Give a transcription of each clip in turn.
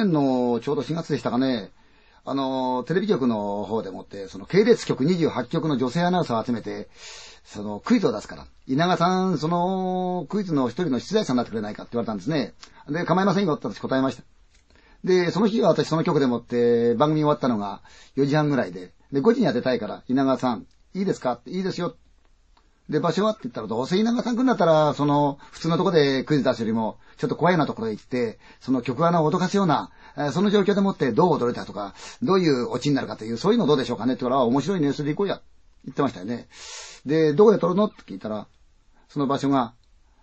年のちょうど4月でしたかね、テレビ局の方でもって、その系列局28局の女性アナウンサーを集めて、そのクイズを出すから、稲川さん、そのクイズの一人の出題者になってくれないかって言われたんですね。で、構いませんよって私答えました。で、その日は私その局でもって番組終わったのが4時半ぐらいで、5時に当てたいから、稲川さん、いいですかって、いいですよ。で、場所はって言ったら、どうせ稲川さん来るんだったら、その、普通のとこでクイズ出すよりも、ちょっと怖いようなところへ行って、その局アナを脅かすような、その状況でもってどう踊れたとか、どういうオチになるかという、そういうのどうでしょうかねって言ったら、面白いね、それで行こうや。言ってましたよね。で、どこで撮るのって聞いたら、その場所が、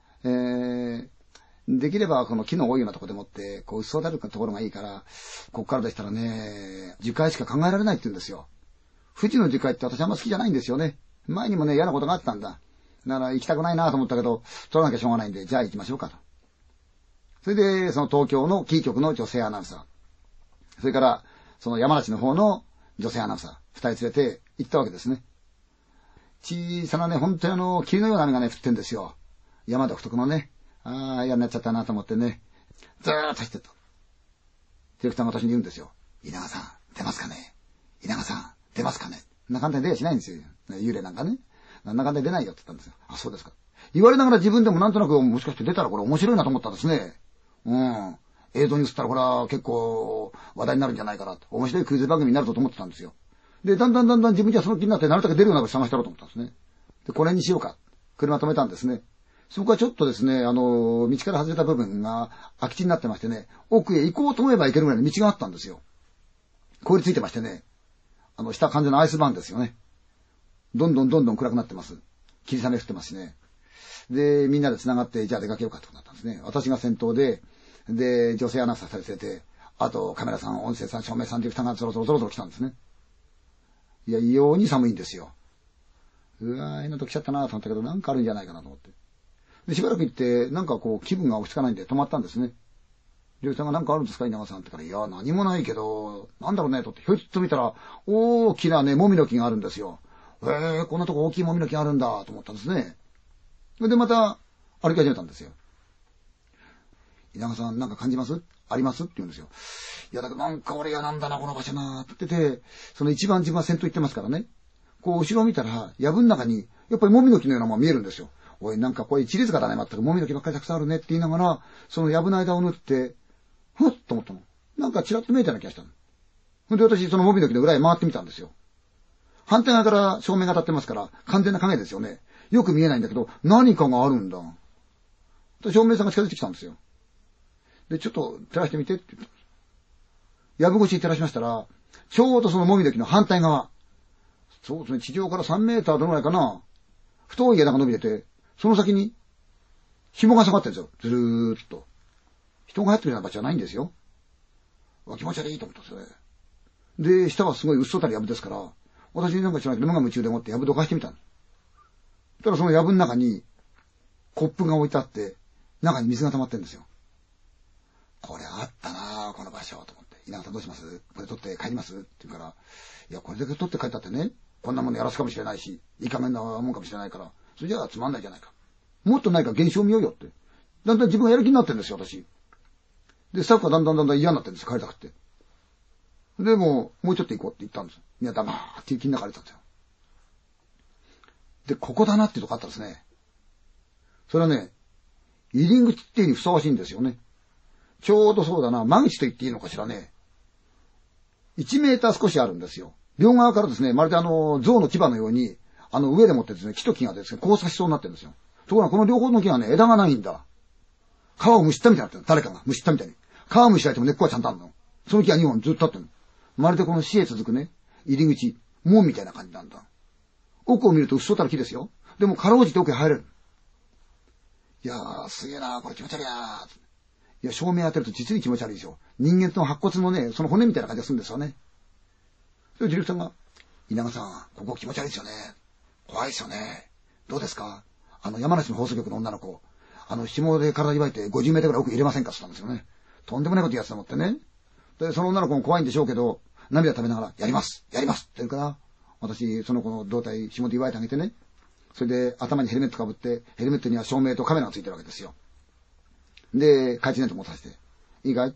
できればこの木の多いようなところでもって、こう、嘘だるところがいいから、こっからでしたらね、樹海しか考えられないって言うんですよ。富士の樹海って私あんま好きじゃないんですよね。前にもね、嫌なことがあったんだ。だから行きたくないなと思ったけど、取らなきゃしょうがないんで、じゃあ行きましょうかと。それで、その東京のキー局の女性アナウンサー。それから、その山梨の方の女性アナウンサー。二人連れて行ったわけですね。小さなね、本当に霧のような雨がね、降ってんですよ。山独特のね。ああ、嫌になっちゃったなと思ってね。ずーっと走ってった。ディレクターが私に言うんですよ。稲川さん、出ますかね？稲川さん、出ますかね？そんな簡単に出やしないんですよ。幽霊なんかね。なんだかんだ出ないよって言ったんですよ。あ、そうですか。言われながら自分でもなんとなくもしかして出たらこれ面白いなと思ったんですね。うん。映像に映ったらこれは結構話題になるんじゃないかなと。面白いクイズ番組になると思ってたんですよ。で、だんだん自分じゃその気になってなるだけ出るようなこと探したろうと思ったんですね。で、これにしようか。車止めたんですね。そこはちょっとですね、道から外れた部分が空き地になってましてね、奥へ行こうと思えば行けるぐらいの道があったんですよ。凍りついてましてね、下完全なアイスバーンですよね。どんどん暗くなってます。霧雨降ってますしね。で、みんなで繋がって、じゃあ出かけようかってことになったんですね。私が先頭で、女性アナウンサーされてて、あとカメラさん、音声さん、照明さんディレクターがゾロゾロ来たんですね。いや、異様に寒いんですよ。うわー、変なと来ちゃったなと思ったけど、なんかあるんじゃないかなと思って。で、しばらく行って、なんかこう、気分が落ち着かないんで止まったんですね。ディレクターがなんかあるんですか稲川さんってから、いや、何もないけど、なんだろうねとって、ひょいっと見たら、大きなね、もみの木があるんですよ。こんなとこ大きいもみの木があるんだと思ったんですね。で、また歩き始めたんですよ。稲川さんなんか感じますありますって言うんですよ。いや、だけどなんか俺嫌なんだな、この場所なって言ってて、その一番自分は先頭行ってますからね。こう、後ろを見たら、藪の中に、やっぱりもみの木のようなものが見えるんですよ。おい、なんかこれ一列がだね、まったくもみの木ばっかりたくさんあるねって言いながら、その藪の間を縫って、ふっと思ったの。なんかチラッと見えたような気がしたの。ほんで私、そのもみの木の裏へ回ってみたんですよ。反対側から照明が当たってますから、完全な影ですよね。よく見えないんだけど、何かがあるんだ。照明さんが近づいてきたんですよ。で、ちょっと照らしてみてって言った。藪越しに照らしましたら、ちょうどそのもみの木の反対側。そうですね、地上から3メーターどのぐらいかな。太い枝が伸びてて、その先に紐が下がってるんですよ。ずるーっと。人が入ってるような場所じゃないんですよ。気持ち悪いと思ったんですよね。で、下はすごいうっそたり藪ですから、私なんか知らないけど、無我夢中でもって藪どかしてみたの。そしたらその藪の中に、コップが置いてあって、中に水が溜まってるんですよ。これあったなぁ、この場所、と思って。稲川さんどうします？これ取って帰ります？って言うから、いや、これだけ取って帰ったってね、こんなものやらすかもしれないし、いい加減なもんかもしれないから、それじゃあつまんないじゃないか。もっとないか現象を見ようよって。だんだん自分がやる気になってるんですよ、私。で、スタッフがだんだん嫌になってるんです、帰りたくって。で、もうちょっと行こうって言ったんです。みんな黙って雪の中歩いてたんですよ。で、ここだなっていうとこあったんですね。それはね、入り口っていうにふさわしいんですよね。ちょうどそうだな、間口と言っていいのかしらね。1メーター少しあるんですよ。両側からですね、まるで象の牙のように、上でもってですね、木と木がですね、交差しそうになってるんですよ。ところがこの両方の木がね、枝がないんだ。皮をむしったみたいになってる。誰かがむしったみたいに。皮むしられても根っこはちゃんとあるの。その木は2本ずっと立ってるの。まるでこの死へ続くね、入り口、門みたいな感じなんだ。奥を見るとうっそうたる木ですよ。でもかろうじて奥へ入れる。いやー、すげえなー、これ気持ち悪いなー。いや、照明当てると実に気持ち悪いでしょ。人間との白骨のね、その骨みたいな感じがするんですよね。それでディレクターが、稲川さん、ここ気持ち悪いですよね。怖いですよね。どうですか？山梨の放送局の女の子、紐で体祝いて50メートルぐらい奥入れませんかって言ったんですよね。とんでもないこと言うやつと思ってね。で、その女の子も怖いんでしょうけど、涙食べながら、やりますって言うから、私、その子の胴体、紐で祝いてあげてね。それで、頭にヘルメットかぶって、ヘルメットには照明とカメラがついてるわけですよ。で、懐中電灯持たせて、いいかい？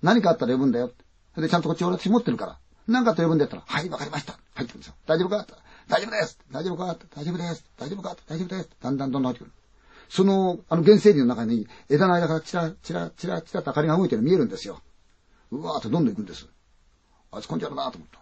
何かあったら呼ぶんだよ。で、ちゃんとこっち私持ってるから。何かあったら呼ぶんだったら、はい、わかりました。入ってくるんですよ。大丈夫か大丈夫です。大丈夫か大丈夫です。大丈夫か大丈夫です。だんだんどんどん入ってくる。その、原生林の中に枝の間からチラチラチラチラと明かりが動いてるの見えるんですよ。うわーってどんどん行くんです。あいつ根性あるなと思った。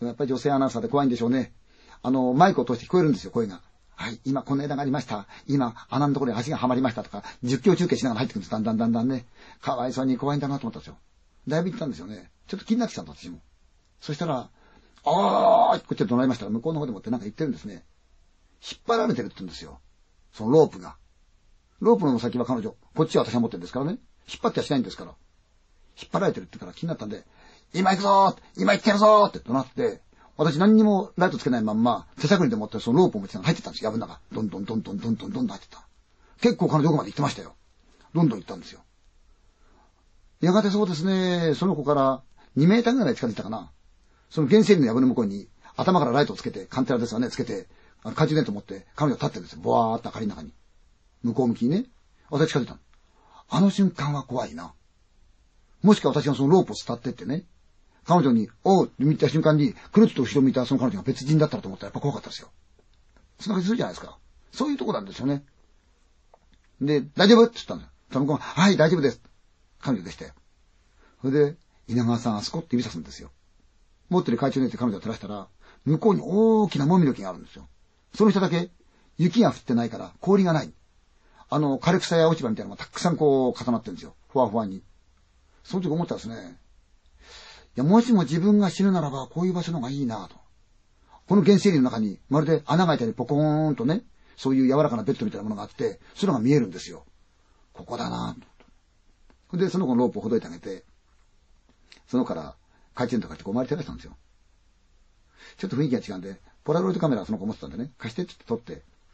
やっぱり女性アナウンサーで怖いんでしょうね。マイクを通して聞こえるんですよ、声が。はい、今この枝がありました。今、穴のところに足がはまりましたとか、実況中継しながら入ってくるんです。だんだんだんだんね。かわいそうに怖いんだなと思ったんですよ。だいぶ行ったんですよね。ちょっと気になってきたんだ、私も。そしたら、こっちで怒鳴りましたら、向こうの方でもってなんか言ってるんですね。引っ張られてるって言うんですよ。そのロープが。ロープの先は彼女。こっちは私が持ってるんですからね。引っ張ってはしないんですから。引っ張られてるってから気になったんで、今行くぞー今行ってやるぞーって怒鳴って、私何にもライトつけないまんま、手探りで持ってそのロープを持って入ってったんですよ、藪の中。どんどんどんどんどんどんどんどん入ってった。結構彼女奥まで行ってましたよ。どんどん行ったんですよ。やがてそうですね、その子から2メーターぐらい近づいたかな。その原生林の藪の向こうに頭からライトをつけて、カンテラですがね、つけて、懐中電灯持って彼女立ってるんですよ。ボワーっと明かりの中に。向こう向きにね。私近づいたの。あの瞬間は怖いな。もしか私がそのロープを伝ってってね、彼女に、おうって見た瞬間に、くるっと後ろ見たその彼女が別人だったらと思ったらやっぱ怖かったですよ。そんな感じするじゃないですか。そういうとこなんですよね。で、大丈夫って言ったんだよ。その子が、はい、大丈夫です。彼女でしたよ。それで、稲川さん、あそこって指さすんですよ。持ってる懐中電灯彼女を照らしたら、向こうに大きなもみの木があるんですよ。その下だけ、雪が降ってないから、氷がない。枯れ草や落ち葉みたいなのがたくさんこう重なってるんですよ。ふわふわに。その時思ったんですね。いや、もしも自分が死ぬならば、こういう場所の方がいいなと。この原生林の中に、まるで穴が開いたりポコーンとね、そういう柔らかなベッドみたいなものがあって、それが見えるんですよ。ここだなと。で、その子のロープをほどいてあげて、その子から懐中電灯買ってこう周り照らしたんですよ。ちょっと雰囲気が違うんで、ポラロイドカメラをその子持ってたんでね、貸してって撮って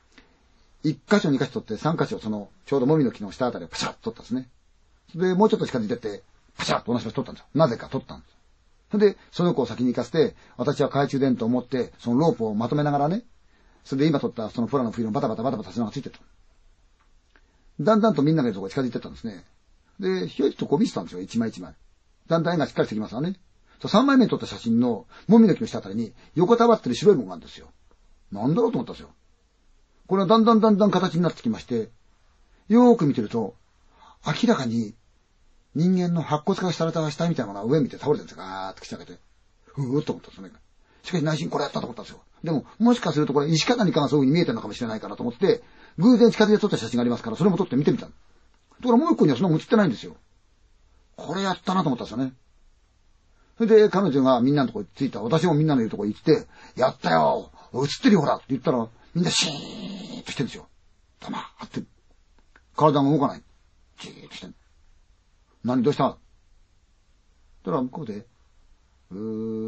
、1箇所2箇所撮って3箇所その、ちょうどもみの木の下あたりをパシャッと撮ったんですね。で、もうちょっと近づいてって、パシャッと同じ場所撮ったんですよ。なぜか撮ったんです。で、その子を先に行かせて、私は懐中電灯を持って、そのロープをまとめながらね、それで今撮ったそのポラのフィルムバタバタバタバタしながらついてった。だんだんとみんながいるところが近づいてったんですね。で、ひょいっとこう見せたんですよ、一枚一枚。だんだん絵がしっかりしてきますわね。3枚目に撮った写真の、もみの木の下あたりに、横たわってる白いものがあるんですよ。なんだろうと思ったんですよ。これはだんだんだんだん形になってきまして、よーく見てると、明らかに、人間の白骨化された死体みたいなものが上見て倒れてるんですよ。ガーッと口開けて。ふーっと思ったんですよね。しかし内心これやったと思ったんですよ。でも、もしかするとこれ石か何かがそういう風に見えてるのかもしれないからと思って、偶然近づいて撮った写真がありますから、それも撮って見てみた。ところがもう一個にはそんなの写ってないんですよ。これやったなと思ったんですよね。それで彼女がみんなのところに着いた。私もみんなのいるところに行って、やったよ写ってるよほらって言ったら、みんなシーンとしてるんですよ。黙って。体が動かない。じーっとしてる。何どうしたたら向こうで、と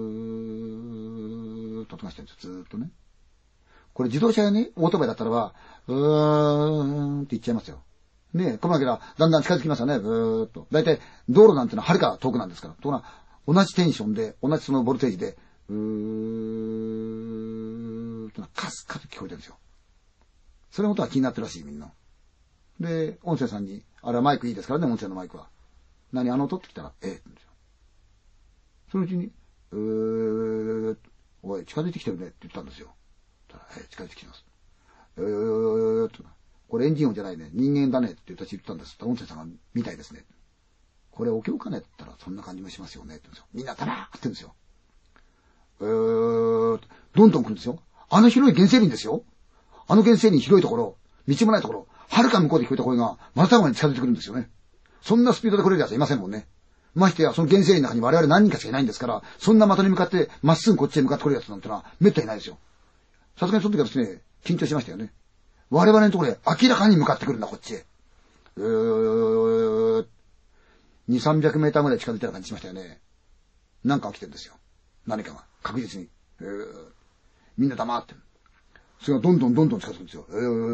音がしてるんですよ。ずーっとね。これ自動車やね、オートバイだったらば、って言っちゃいますよ。ねこのわけだ、だんだん近づきますよね、ーっと。だいたい道路なんてのは遥か遠くなんですから。ところが、同じテンションで、同じそのボルテージで、とカスカス聞こえてるんですよ。それのことは気になってるらしい、みんな。で、音声さんに、あれはマイクいいですからね、音声のマイクは。何あの音ってきたら、って言うんですよ。そのうちに、おい、近づいてきてるねって言ったんですよ。近づいてきてます。これエンジン音じゃないね。人間だねって私言ったんです。音声さんがみたいですね。これお経かねって言ったらそんな感じもしますよねって言うんですよ。みんな黙ってるんですよ。どんどん来るんですよ。あの広い原生林ですよ。あの原生林広いところ、道もないところ、はるか向こうで聞こえた声が、またまに近づいてくるんですよね。そんなスピードで来れる奴はいませんもんね。ましてや、その原生林の中に我々何人かしかいないんですから、そんな的に向かって、まっすぐこっちへ向かって来る奴なんてのは、めったにないですよ。さすがにその時はですね、緊張しましたよね。我々のところへ明らかに向かってくるんだ、こっちへ。2、300メーターぐらい近づいたような感じしましたよね。なんか起きてるんですよ。何かが。確実に。みんな黙ってる。それがどんどんどんどん近づくんですよ。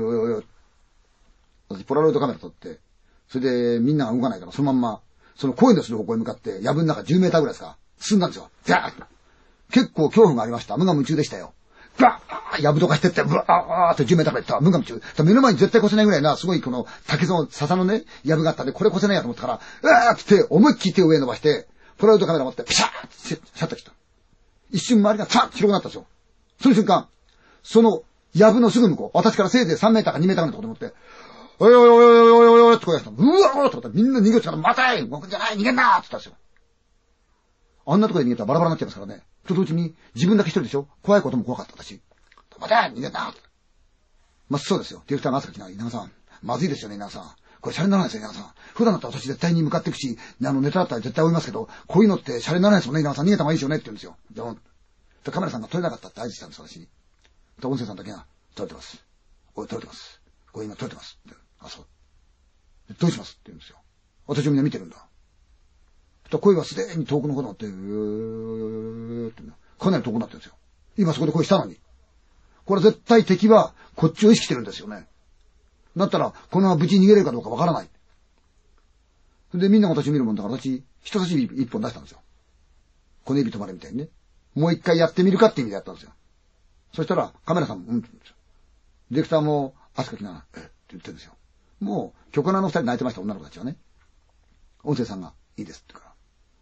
私、ポラロイドカメラ撮って、それでみんなが動かないから、そのまんま、その声のする方向に向かって、藪の中10メーターぐらいですか、進んだんですよ。ザーッと。結構恐怖がありました。無我夢中でしたよ。バーッ藪とかしてって、ブワーって10メーターぐらい行った。無我夢中。目の前に絶対越せないぐらいな、すごいこの竹の笹のね、藪があったんで、これ越せないやと思ったから、うわーって思いっきり手を上に伸ばして、 プライドカメラ持って、ピシャーってシャッター切った。一瞬周りがザッと広くなったんですよ。その瞬間、その、藪のすぐ向こう、私からせいぜい3メーターか2メーターぐらいのところで持って、おいおいおいおいおいおいおいって声がしたの。うわーってみんな逃げようとしたら、待て動くんじゃない逃げんなーって言ったんですよ。あんなところで逃げたらバラバラになっちゃいますからね。と同時に、自分だけ一人でしょ怖いことも怖かった私。待て逃げんなーって。まあ、そうですよ。ディレクターが朝から来な、稲川さん。まずいですよね、稲川さん。これシャレにならないですよ、稲川さん。普段だったら私絶対に向かっていくし、ネタだったら絶対追いますけど、こういうのってシャレにならないですもんね、稲川さん。逃げた方がいいですよねって言うんですよ。で、カメラさんが撮れなかったって合図したんです、私に。で、音声さんだけが、撮れてます。おい、撮れてます。これ今撮れてます。あ、そう。どうしますって言うんですよ。私もみんな見てるんだ。声がすでに遠くの方になって、ってかなり遠くなってるんですよ。今そこで声したのに。これ絶対敵はこっちを意識してるんですよね。だったら、このまま無事に逃げれるかどうかわからない。で、みんなが私を見るもんだから私、人差し指一本出したんですよ。小指止まれみたいにね。もう一回やってみるかって意味でやったんですよ。そしたら、カメラさんも、うんって言うんですよ。ディレクターも、汗かきながら、って言ってるんですよ。もう、曲穴の二人泣いてました、女の子たちはね。音声さんが、いいですって言うから。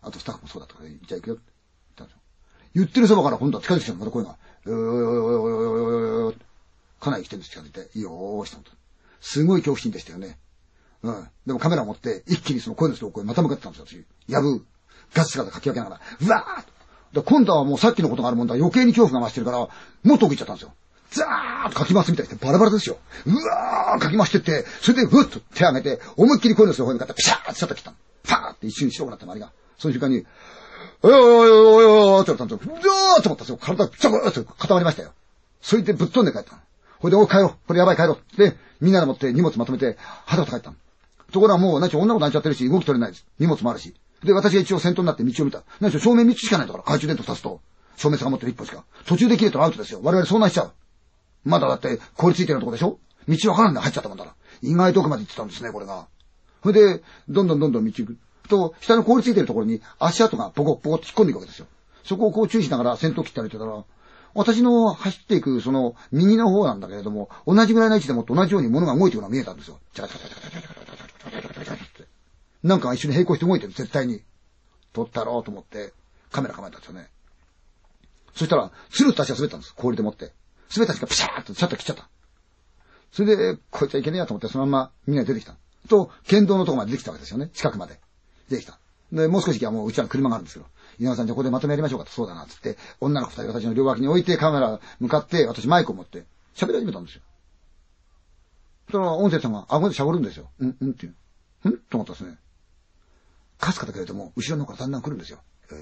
あとスタッフもそうだとか、じゃあ行くよって言ったんですよ。言ってるそばから今度は近づいてきたの、また声が。かなり来てるんです、近づいて。いいよーしたのと。すごい恐怖心でしたよね。うん。でもカメラを持って、一気にその声の人をまた向かってたんですよ、私。やぶ、ガス姿かき分けながら、うわーっと。今度はもうさっきのことがあるもんだ、余計に恐怖が増してるから、もっと奥行っちゃったんですよ。ザーッとかき回すみたいにしてバラバラですよ。うわーかき回してって、それでふっと手を上げて、思いっきり声の人の方に向かってピシャーってシャッター切ったの。パーって一瞬白くなった周りが。その瞬間に、おいおいおいおいおいって言ったんですよ。うわーって思ったんですよ。体がピチャーって固まりましたよ。それでぶっ飛んで帰ったの。ほいで、おい帰ろう。これやばい帰ろう。で、みんなで持って荷物まとめて、はたはた帰ったの。ところがもう、何しろ女の子泣いちゃってるし、動き取れないです。荷物もあるし。で、私が一応先頭になって道を見た。何しろ正面3つしかないんだから、懐中電灯2つと、照明さんが持ってる1本しか。途中で切れたらアウトですよ。我々遭難しちゃう。まだだって凍りついてるとこでしょ。道わからんで入っちゃったもんだから。意外と奥まで行ってたんですね、これが。それで、どんどん道行く。と、下の凍りついてるところに足跡がポコポコって引っ込んでいくわけですよ。そこをこう注意しながら先頭切って歩いてたら、私の走っていくその右の方なんだけれども、同じぐらいの位置でも同じように物が動いていくのが見えたんですよ。なんか一緒に並行して動いてる、絶対に。撮ったろうと思ってカメラ構えたんですよね。そしたら、スルッと足が滑ったんです。氷で持って。滑った足がピシャーッとシャッター切っちゃった。それで、こいつはいけねえやと思って、そのままみんなで出てきた。と、県道のとこまで出てきたわけですよね。近くまで。出てきた。で、もう少し行けばもううちらの車があるんですけど、稲川さんじゃあここでまとめやりましょうかと、そうだな、つって、女の子二人私の両脇に置いてカメラ向かって、私マイクを持って喋り始めたんですよ。その音声さんが顎で喋るんですよ。っていう。と思ったんですね。かすかだけれども、後ろの方からだんだん来るんですよ。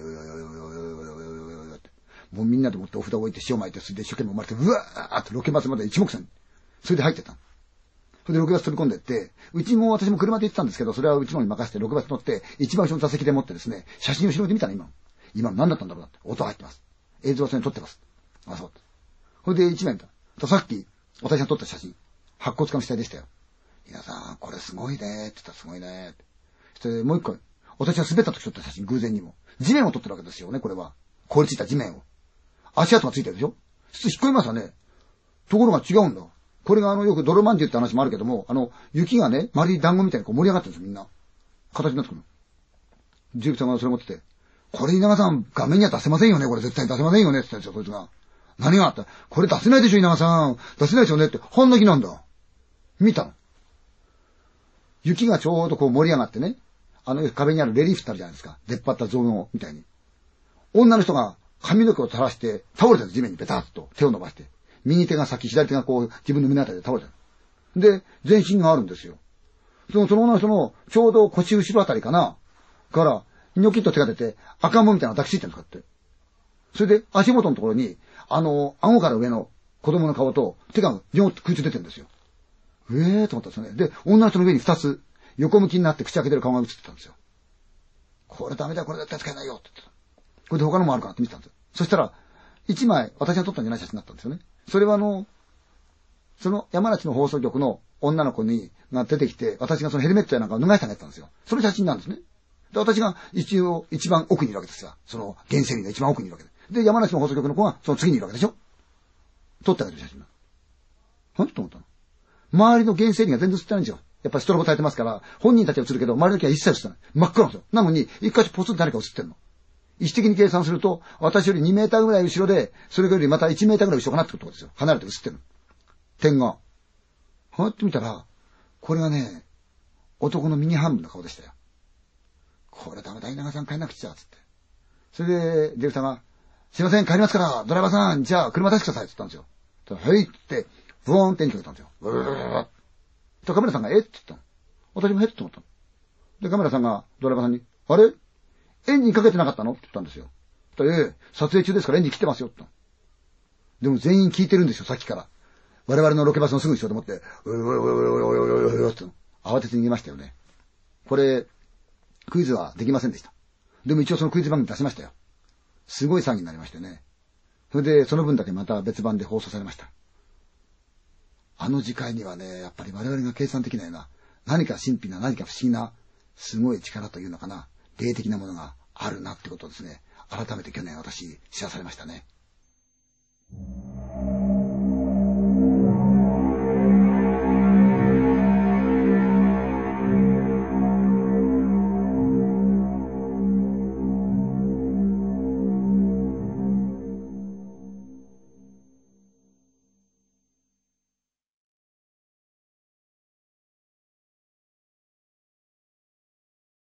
もうみんなでもってお札を置いて塩巻いて、それで一生懸命生まれて、うわーってロケバスまで一目散に。それで入ってった。それでロケバス飛び込んでって、うちも私も車で行ってたんですけど、それはうちのに任せてロケバス乗って、一番後ろの座席で持ってですね、写真を後ろで見たら今何だったんだろうなって。音入ってます。映像はそれに撮ってます。あ、そう。それで一面だ。さっき、私が撮った写真、白骨化の死体でしたよ。皆さん、これすごいねって言ったらすごいねって。そしてもう一個、私が滑った時撮った写真、偶然にも。地面を撮ってるわけですよね、これは。凍りついた地面を。足跡がついてるでしょ。普通引っ込みますよね。ところが違うんだ。これがよく泥まんじゅうって話もあるけども、雪がね、まるで団子みたいにこう盛り上がってるんですよ、みんな。形になってくる。ディレクターがそれ持ってて、これ稲川さん、画面には出せませんよね、これ絶対出せませんよね、って言ったんですよ、そいつが。何があった？これ出せないでしょ、稲川さん。出せないでしょうねって、半泣きなんだ。見たの。雪がちょうどこう盛り上がってね、壁にあるレリーフってあるじゃないですか。出っ張った造像みたいに。女の人が髪の毛を垂らして倒れてる地面にベタッと手を伸ばして。右手が先、左手がこう自分の胸あたりで倒れてる。で、全身があるんですよ。その女の人のちょうど腰後ろあたりかな。から、ニョキッと手が出て赤ん坊みたいなのが抱きついてるんですかって。それで足元のところに、顎から上の子供の顔と手がビョンと空中出てるんですよ。と思ったんですよね。で、女の人の上に二つ、横向きになって口開けてる顔が映ってたんですよ。これダメだ、これ絶対使えないよって言ってた。これで他のもあるかなって見てたんですよ。そしたら、一枚私が撮ったんじゃない写真だったんですよね。それはその山梨の放送局の女の子が出てきて、私がそのヘルメットやなんかを脱がしてあげてたんですよ。その写真なんですね。で、私が一番奥にいるわけですよ。その原生林が一番奥にいるわけで。で、山梨の放送局の子がその次にいるわけでしょ。撮ってあげる写真だ。と思ったの。周りの原生林が全然映ってないんですよ。 やっぱりストロボ焚いてますから、本人たちは映るけど、周りの木は一切映ってない。真っ暗なんですよ。なのに、一箇所ポツンと誰か映ってんの。意思的に計算すると、私より2メーターぐらい後ろで、それよりまた1メーターぐらい後ろかなってことですよ。離れて映ってるの。点が。こうやって見たら、これがね、男の右半分の顔でしたよ。これダメだ、稲川さん帰んなくちゃ、つって。それで、ディレクターが、すいません、帰りますから、ドライバーさん、じゃあ車出してください、って言ったんですよ。はいって、ブーンってエンジンかけたんですよ。ブルルルルルとカメラさんが、って言ったの。私もって思ったの。で、カメラさんがドライバーさんに、あれエンジンかけてなかったのって言ったんですよ。撮影中ですからエンジン切ってますよ、って言ったの。でも全員聞いてるんですよ、さっきから。我々のロケバスのすぐ後ろでもって、って慌てて逃げましたよね。これ、クイズはできませんでした。でも一応そのクイズ番組出しましたよ。すごい騒ぎになりましてね。それで、その分だけまた別番で放送されました。あの次回にはね、やっぱり我々が計算できないような、何か神秘な、何か不思議な、すごい力というのかな、霊的なものがあるなってことをですね、改めて去年私知らされましたね。